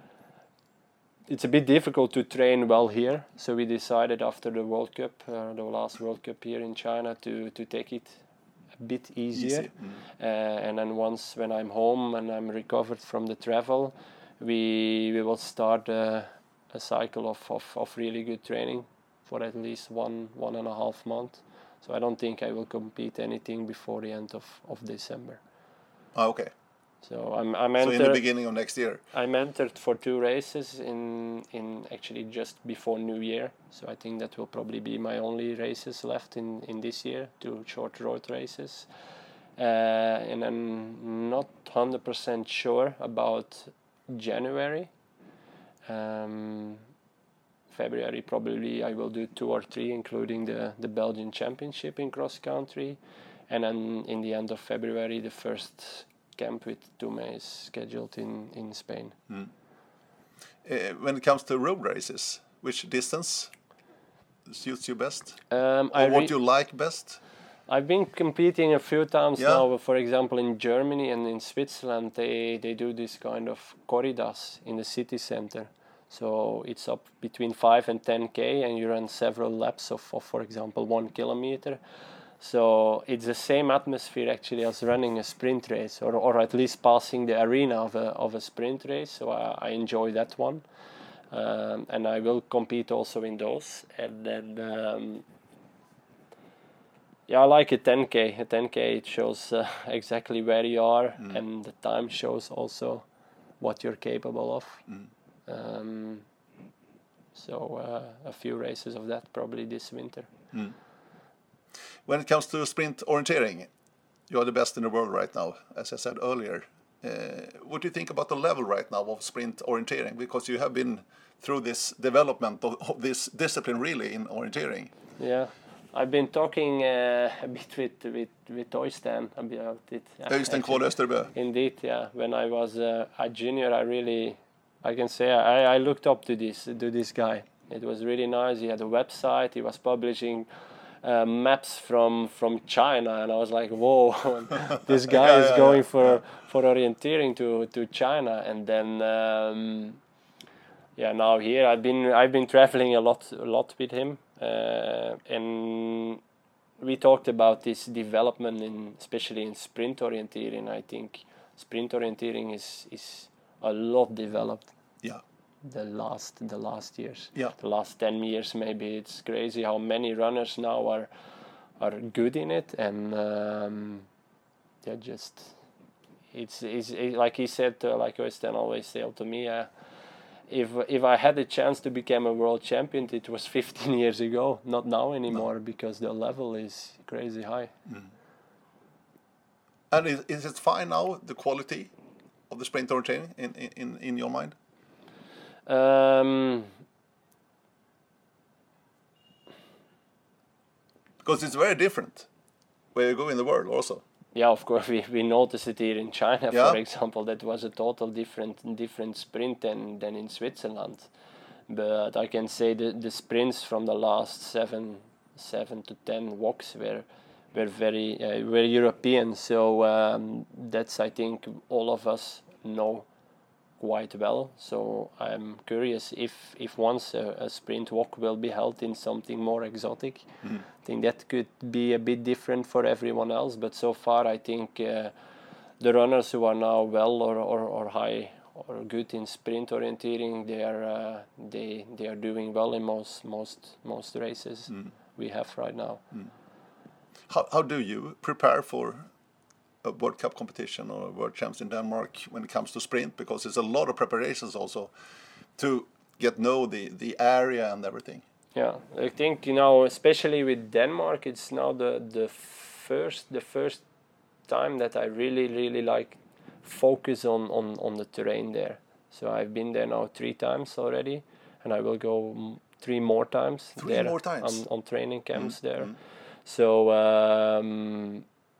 it's a bit difficult to train well here, so we decided after the World Cup, uh, the last World Cup here in China, to to take it a bit easier. Easy. Mm. Uh, and then once when I'm home and I'm recovered from the travel, we we will start uh, a cycle of, of, of really good training for at least one one and a half month. So I don't think I will compete anything before the end of, of December. Ah, okay. So I'm I'm So in the entered beginning of next year. I'm entered for two races in in actually just before New Year. So I think that will probably be my only races left in, in this year, two short road races. Uh, and I'm not one hundred percent sure about January. Um, February probably I will do two or three, including the, the Belgian Championship in cross country. And then in the end of February, the first camp with Tume is scheduled in, in Spain. Mm. Uh, when it comes to road races, which distance suits you best? Um, Or I what re- you like best? I've been competing a few times Yeah. now. For example, in Germany and in Switzerland, they, they do this kind of corridas in the city center. So it's up between five and ten k, and you run several laps of, of, for example, one kilometer. So it's the same atmosphere actually as running a sprint race, or, or at least passing the arena of a, of a sprint race. So I, I enjoy that one. Um, and I will compete also in those. And then um, yeah, I like a ten k. A ten k, it shows uh, exactly where you are, Mm. and the time shows also what you're capable of. Mm. Um, so uh, a few races of that probably this winter. Mm. When it comes to sprint orienteering, you are the best in the world right now, as I said earlier. Uh, what do you think about the level right now of sprint orienteering? Because you have been through this development of, of this discipline really in orienteering. Yeah, I've been talking uh, a bit with with with Øystein about it. Yeah, Øystein Kvål Østerbø. Indeed, yeah. When I was uh, a junior, I really, I can say, I, I looked up to this to this guy. It was really nice. He had a website. He was publishing uh, maps from from China, and I was like, whoa, this guy Yeah, is yeah, going yeah, for yeah. for orienteering to to China. And then um, yeah, now here I've been I've been traveling a lot a lot with him, uh, and we talked about this development in especially in sprint orienteering. I think sprint orienteering is is a lot developed Yeah. the last the last years. Yeah. The last ten years maybe. It's crazy how many runners now are are good in it, and um, they're just it's, it's it, like he said, uh, like Øystein always said to me, uh, if if I had a chance to become a world champion, it was fifteen years ago, not now anymore, no. Because the level is crazy high. Mm. And is, is it fine now, the quality of the sprint orienteering in, in, in your mind? Um, because it's very different where you go in the world also. Yeah, of course, we, we noticed it here in China, yeah. for example. That was a total different different sprint than, than in Switzerland. But I can say the, the sprints from the last seven seven to ten walks were were very uh, were European. So um, that's, I think, all of us know quite well. So I'm curious if if once a, a sprint walk will be held in something more exotic. Mm. I think that could be a bit different for everyone else. But so far, I think uh, the runners who are now well or, or, or high or good in sprint orienteering, they are uh, they they are doing well in most most most races mm. we have right now. Mm. How how do you prepare for a World Cup competition or World Champs in Denmark when it comes to sprint? Because it's a lot of preparations also to get know the the area and everything. Yeah, I think, you know, especially with Denmark, it's now the the first the first time that I really really like focus on on on the terrain there. So I've been there now three times already, and I will go m- three more times. Three there more times on, on training camps mm. there. Mm. So. Um,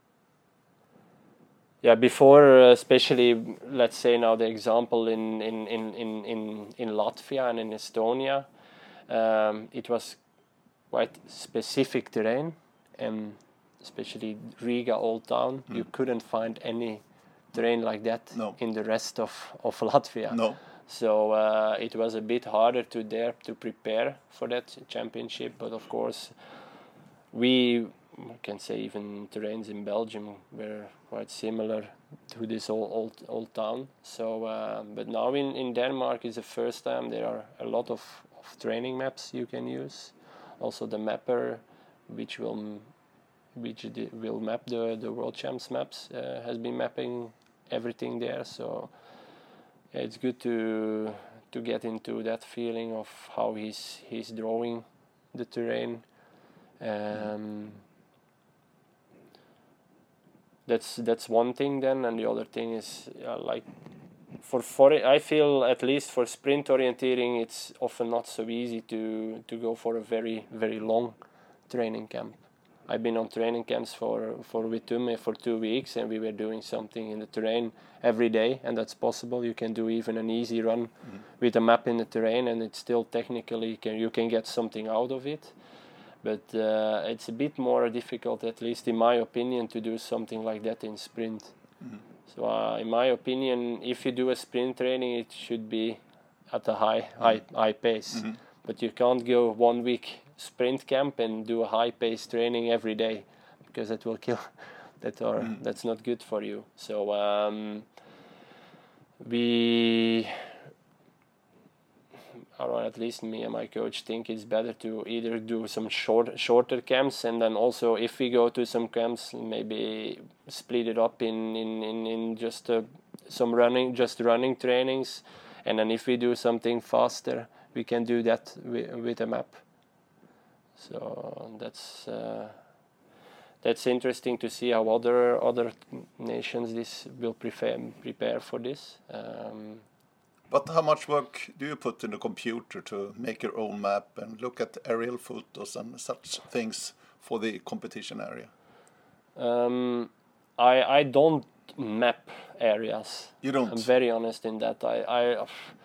Yeah, before, uh, especially, let's say now the example in in, in, in, in, in Latvia and in Estonia, um, it was quite specific terrain, and especially Riga Old Town, mm. you couldn't find any terrain like that no. in the rest of, of Latvia. No. So uh, it was a bit harder to dare to prepare for that championship, but of course we... I can say even terrains in Belgium were quite similar to this old old, old town. So, uh, but now in, in Denmark is the first time there are a lot of, of training maps you can use. Also the mapper, which will which will map the the World Champs maps, uh, has been mapping everything there. So yeah, it's good to to get into that feeling of how he's he's drawing the terrain. Um, That's that's one thing then, and the other thing is uh, like for for I feel at least for sprint orienteering, it's often not so easy to to go for a very very long training camp. I've been on training camps for for Witume for two weeks, and we were doing something in the terrain every day, and that's possible. You can do even an easy run mm-hmm. with a map in the terrain, and it's still technically can you can get something out of it. But uh, it's a bit more difficult, at least in my opinion, to do something like that in sprint. Mm-hmm. So, uh, in my opinion, if you do a sprint training, it should be at a high, mm-hmm. high, high pace. Mm-hmm. But you can't go one week sprint camp and do a high pace training every day, because that will kill. that or mm-hmm. that's not good for you. So um, we. Or at least me and my coach think it's better to either do some short, shorter camps, and then also if we go to some camps, maybe split it up in in in, in just uh, some running, just running trainings, and then if we do something faster, we can do that with, with a map. So that's uh, that's interesting to see how other other nations this will prepare prepare for this. Um, But how much work do you put in the computer to make your own map and look at aerial photos and such things for the competition area? Um, I I don't map areas. You don't? I'm very honest in that. I, I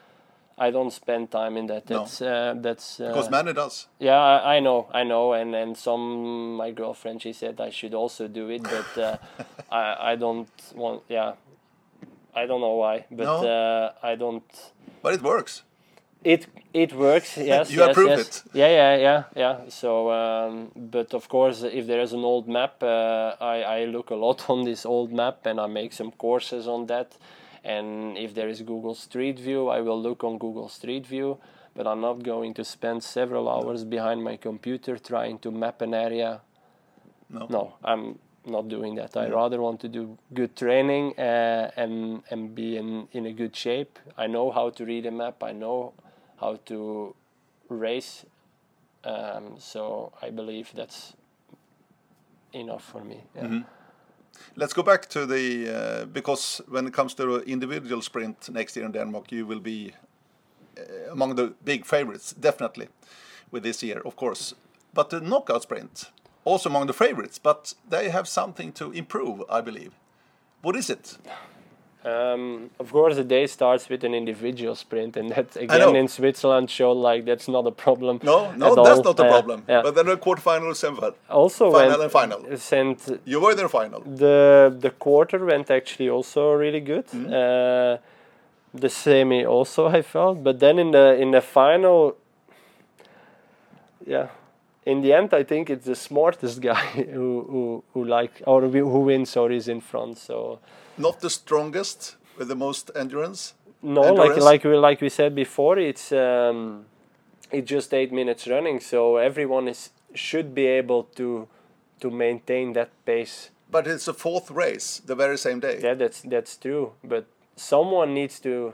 I don't spend time in that. No. That's uh, that's uh, Because Manny does. yeah, I, I know, I know, and and some my girlfriend, she said I should also do it, but uh, I I don't want. Yeah, I don't know why, but No. uh, I don't. But it works. It it works. Yes, You yes, approve yes. it. Yeah, yeah, yeah, yeah. So, um, but of course, if there is an old map, uh, I I look a lot on this old map, and I make some courses on that. And if there is Google Street View, I will look on Google Street View. But I'm not going to spend several hours behind my computer trying to map an area. No. No, I'm not doing that. I Yeah. rather want to do good training uh, and and be in, in a good shape. I know how to read a map. I know how to race. Um, so I believe that's enough for me. Yeah. Mm-hmm. Let's go back to the uh, because when it comes to the individual sprint next year in Denmark, you will be uh, among the big favorites, definitely, with this year, of course. But the knockout sprint, also among the favorites, but they have something to improve, I believe. What is it? Um, of course, the day starts with an individual sprint, and that know. again in Switzerland showed like that's not a problem. No, no, at that's all. not the Uh, problem. yeah. But then the quarterfinal, semifinal, Also, final when and final. sent You were in the final. the the quarter went actually also really good. Mm. Uh, the semi also I felt, but then in the in the final, yeah, in the end I think it's the smartest guy who who, who like or who wins or is in front. So Not the strongest with the most endurance. no, like Endurance? like we like we said before, it's um, it's just eight minutes running, so everyone is should be able to to maintain that pace. But it's a fourth race the very same day. Yeah, that's that's true. But someone needs to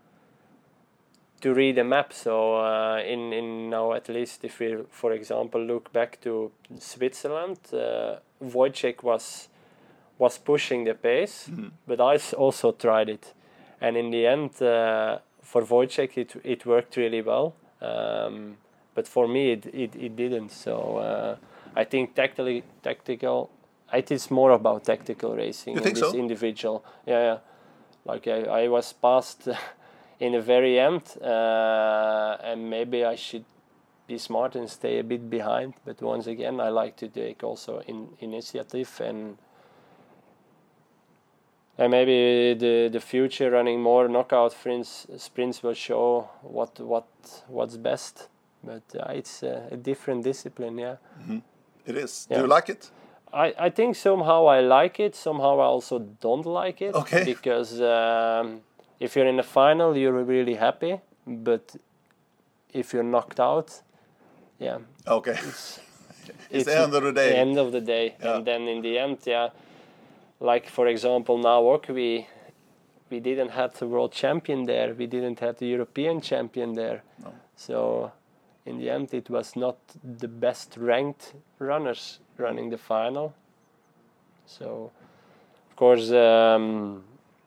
to read a map. So uh, in in now at least if we, for example, look back to Switzerland, uh, Wojciech was was pushing the pace, Mhm. but I s- also tried it, and in the end, uh, for Wojciech it it worked really well. Um, but for me it it, it didn't. So uh, I think tactically tactical. It is more about tactical racing. You and think this so? individual, yeah, yeah. Like I, I was passed in the very end, uh, and maybe I should be smart and stay a bit behind. But once again, I like to take also in initiative and and maybe the the future running more knockout sprints sprints will show what what what's best. But uh, it's uh, a different discipline, yeah. It is. Yeah. Do you like it? I, I think somehow I like it, somehow I also don't like it. Okay. Because um, if you're in the final, you're really happy. But if you're knocked out, yeah, Okay. it's, It's the end of the day. the end of the day. Yeah. And then in the end, yeah, like for example, now we we didn't have the world champion there. We didn't have the European champion there. No. So in the end, it was not the best ranked runners running the final. So, of course, um,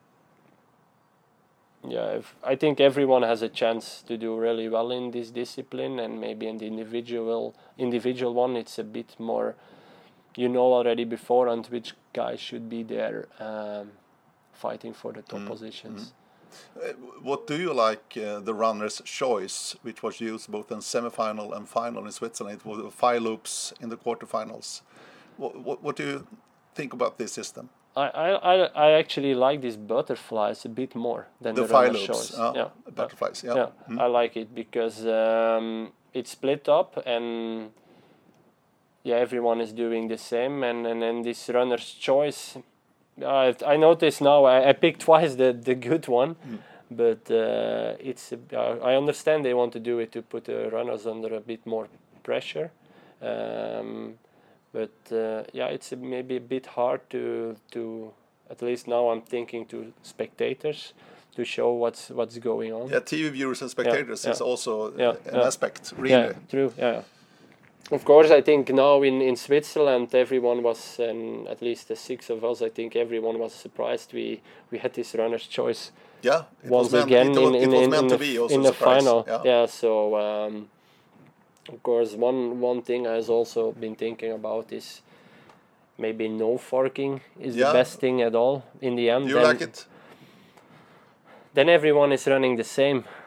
yeah, if, I think everyone has a chance to do really well in this discipline, and maybe in the individual individual one, it's a bit more, you know, already beforehand which guys should be there um, fighting for the top Mm. positions. Mm. Uh, what do you like uh, the runner's choice, which was used both in semi-final and final in Switzerland? It was five loops in the quarterfinals. What, what, what do you think about this system? I, I, I I actually like these butterflies a bit more than The, the, five runner's loops, choice. uh, Yeah. butterflies. Yeah. Yeah, Mm. I like it because um, it's split up and yeah, everyone is doing the same, and and then this runner's choice. I I notice now I, I picked twice the the good one, Mm. but uh, it's uh, I understand they want to do it to put the runners under a bit more pressure. Um, but uh, yeah, it's a, maybe a bit hard to to at least now I'm thinking to spectators to show what's what's going on. Yeah, T V viewers and spectators yeah. is also Yeah, an yeah. aspect, really. Yeah, true. Yeah. Of course, I think now in, in Switzerland, everyone was, and at least the six of us, I think everyone was surprised we, we had this runner's choice Yeah, it once was meant, again it, was- in, it in, was in, meant in to the, be also in a the surprise. final. Yeah. Yeah, so um, of course, one one thing I've also been thinking about is maybe no forking is Yeah. the best thing at all in the end. Do you then, like it? Then everyone is running the same.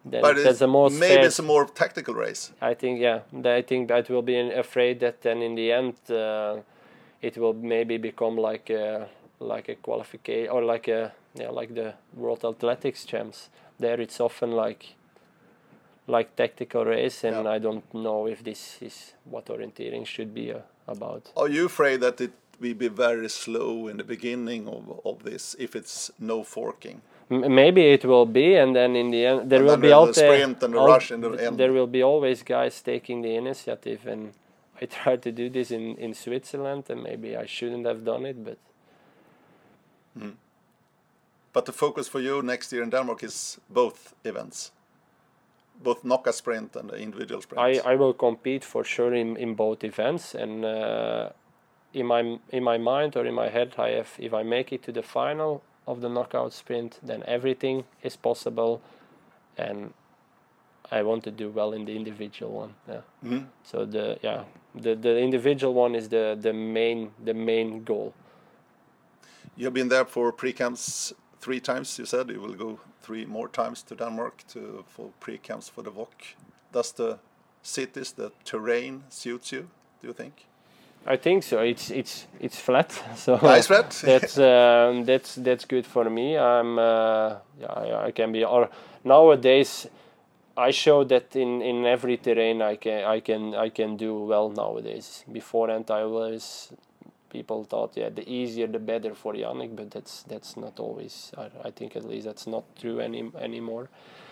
then But that's the most maybe fair. it's a more tactical race. I think, yeah, th- I think that will be an- afraid that then in the end uh, it will maybe become like a like a qualification or like a yeah like the World Athletics Champs. There it's often like like tactical race, and Yeah. I don't know if this is what orienteering should be uh, about. Are you afraid that it will be very slow in the beginning of, of this if it's no forking? M- maybe it will be, and then in the end there And will then be the out there. sprint and the out- rush in the th- end. There will be always guys taking the initiative, and I tried to do this in in Switzerland, and maybe I shouldn't have done it, but. But the focus for you next year in Denmark is both events, both knockout sprint and the individual sprint. I, I will compete for sure in, in both events, and uh, in my in my mind or in my head, I have if I make it to the final of the knockout sprint, then everything is possible, and I want to do well in the individual one. Yeah. Mhm. So the yeah the, the individual one is the, the main the main goal. You've been there for pre-camps three times. You said you will go three more times to Denmark to for pre-camps for the V O C. Does the cities, the terrain suits you? Do you think? I think so. It's it's it's flat. So Nice flat. that's um, that's that's good for me. I'm uh, yeah I, I can be or nowadays I show that in, in every terrain I can I can I can do well nowadays. Beforehand I always people thought yeah the easier the better for Yannick, but that's that's not always I, I think at least that's not true any anymore.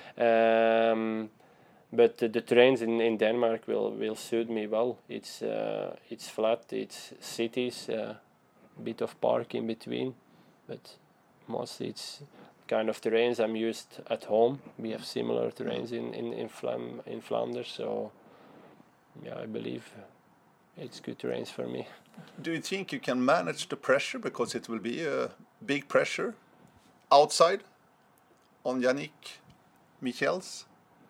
Um, But the, the terrains in, in Denmark will, will suit me well. It's uh, it's flat, it's cities, a uh, bit of park in between, but mostly it's kind of terrains I'm used at home. We have similar terrains in in in, Flam, in Flanders, so yeah, I believe it's good terrains for me. Do you think you can manage the pressure, because it will be a big pressure outside on Yannick Michels?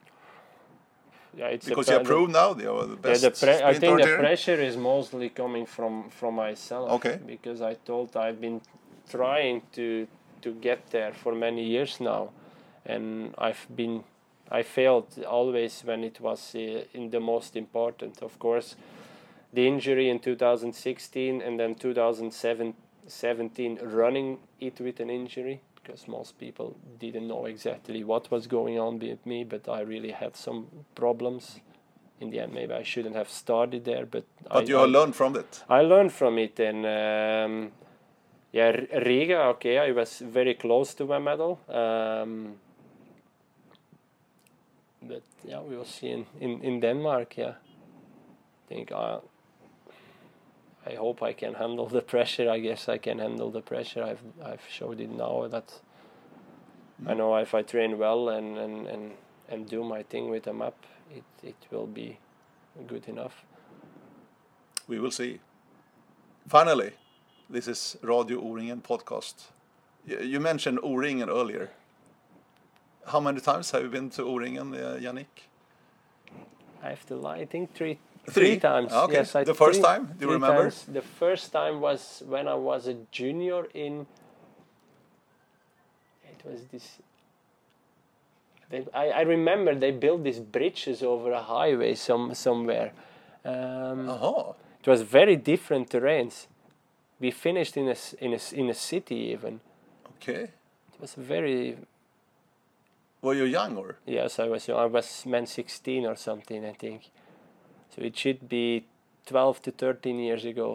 Yeah, it's Because you have proved now they are the best. Yeah, the pre- I sprint think the orienteer. pressure is mostly coming from, from myself. Okay. Because I told I've been trying to to get there for many years now, and I've been I failed always when it was uh, in the most important. Of course, the injury in two thousand sixteen and then two thousand seventeen running it with an injury, because most people didn't know exactly what was going on with me, but I really had some problems. In the end, maybe I shouldn't have started there, but But I, you I, have learned from it. I learned from it, and um, yeah, R- Riga, okay, I was very close to my medal, um, but yeah, we will see in, in, in Denmark. Yeah, I think I, I hope I can handle the pressure. I guess I can handle the pressure. I've I've showed it now that I know if I train well and, and, and, and do my thing with a map, it, it will be good enough. We will see. Finally, this is Radio O-ringen podcast. Y- You mentioned O-ringen earlier. How many times have you been to O-ringen, uh, Yannick? I have to lie. I think three Three? times. Okay. Yes, I The first three- time? Do you three remember? times. The first time was when I was a junior in. It was this. They, I, I remember they built these bridges over a highway some somewhere. Um, Aha. It was very different terrains. We finished in a s- in a s- in a city even. Okay. It was very. Were you young or? Yes, I was. I was man sixteen or something, I think. So it should be twelve to thirteen years ago.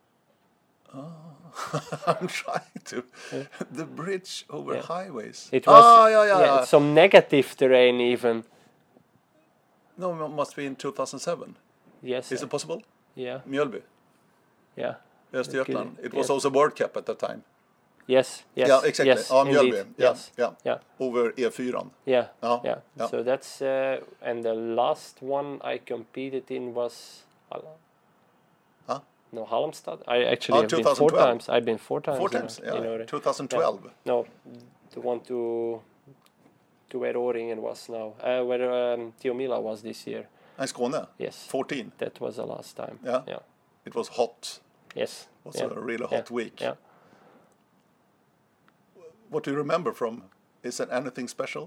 I'm trying to. Yeah. The bridge over Yeah. highways. It was. Ah, yeah, yeah. yeah, some negative terrain even. No, it must be in two thousand seven. Yes. Is uh, it possible? Yeah. Mjölby, Yeah. Östergötland. could- It was yes. also World Cup at that time. Yes. Yes. Yeah, exactly. Yes. Ja, Mjölby. indeed, Yeah, Yes. yeah. Yeah. Over E fyra. Yeah. Ja, Yeah. ja. So that's uh, and the last one I competed in was. Hall- Huh? No, Halmstad. I actually Oh, have been four twenty twelve. times. I've been four times. Four in- times, in yeah. Åre. twenty twelve. No, the one to to where Åringen was now, uh, where um, Tiomila was this year. In Skåne. Yes, fourteen. that was the last time. Yeah. Yeah. It was hot. Yes. It was yeah. a really yeah. hot week. Yeah. What do you remember from? Is there anything special?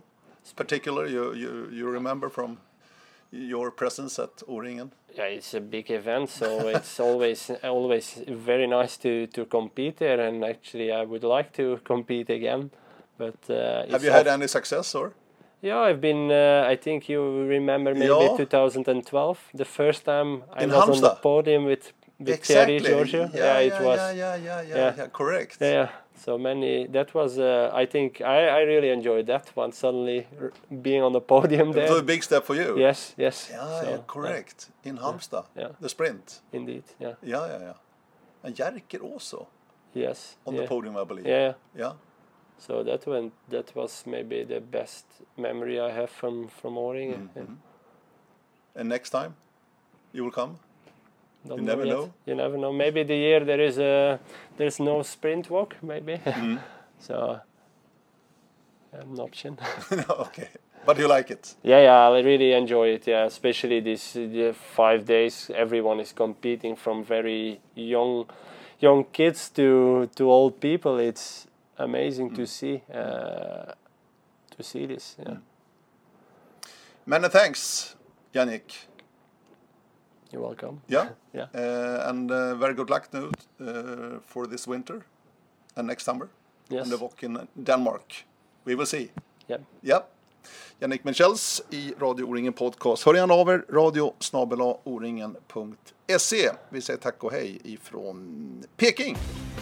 particular you, you, you remember from your presence at O-ringen? Yeah, it's a big event, so it's always always very nice to, to compete there, and actually I would like to compete again. But uh, have you had any success or? Yeah, I've been. Uh, I think you remember maybe yeah. two thousand twelve, the first time I In was Halmstad. on the podium with, with exactly. Thierry Giorgio. Yeah, yeah, yeah, it was. Yeah, yeah, yeah, yeah, yeah. yeah, correct. Yeah, yeah. So many. That was. Uh, I think I, I really enjoyed that one. Suddenly r- being on the podium there. It was a big step for you. Yes, yes. Yeah, so, yeah correct. Yeah. In Halmstad, yeah. the sprint. Indeed, yeah. Yeah, yeah, yeah. And Jerker also. Yes. On yeah. the podium, I believe. Yeah. Yeah. So that went. That was maybe the best memory I have from from O-ringen. Mm-hmm. Yeah. And next time, you will come. Don't you never yet. know. You never know. Maybe the year there is a there's no sprint walk. Maybe. Mm. so an option. Okay, but you like it? Yeah, yeah. I really enjoy it. Yeah, especially this uh, five days. Everyone is competing from very young, young kids to to old people. It's amazing mm. to see uh, to see this. Yeah. Mm. Many thanks, Yannick. You're welcome. Yeah, yeah. Uh, and uh, very good luck now uh, for this winter and next summer. Yes. And the walk in Denmark. We will see. Yeah. Ja. Jannik Michels i Radio O-ringen podcast. Hör gärna av er, radio snabel-a o ringen punkt se. Vi säger tack och hej ifrån Peking.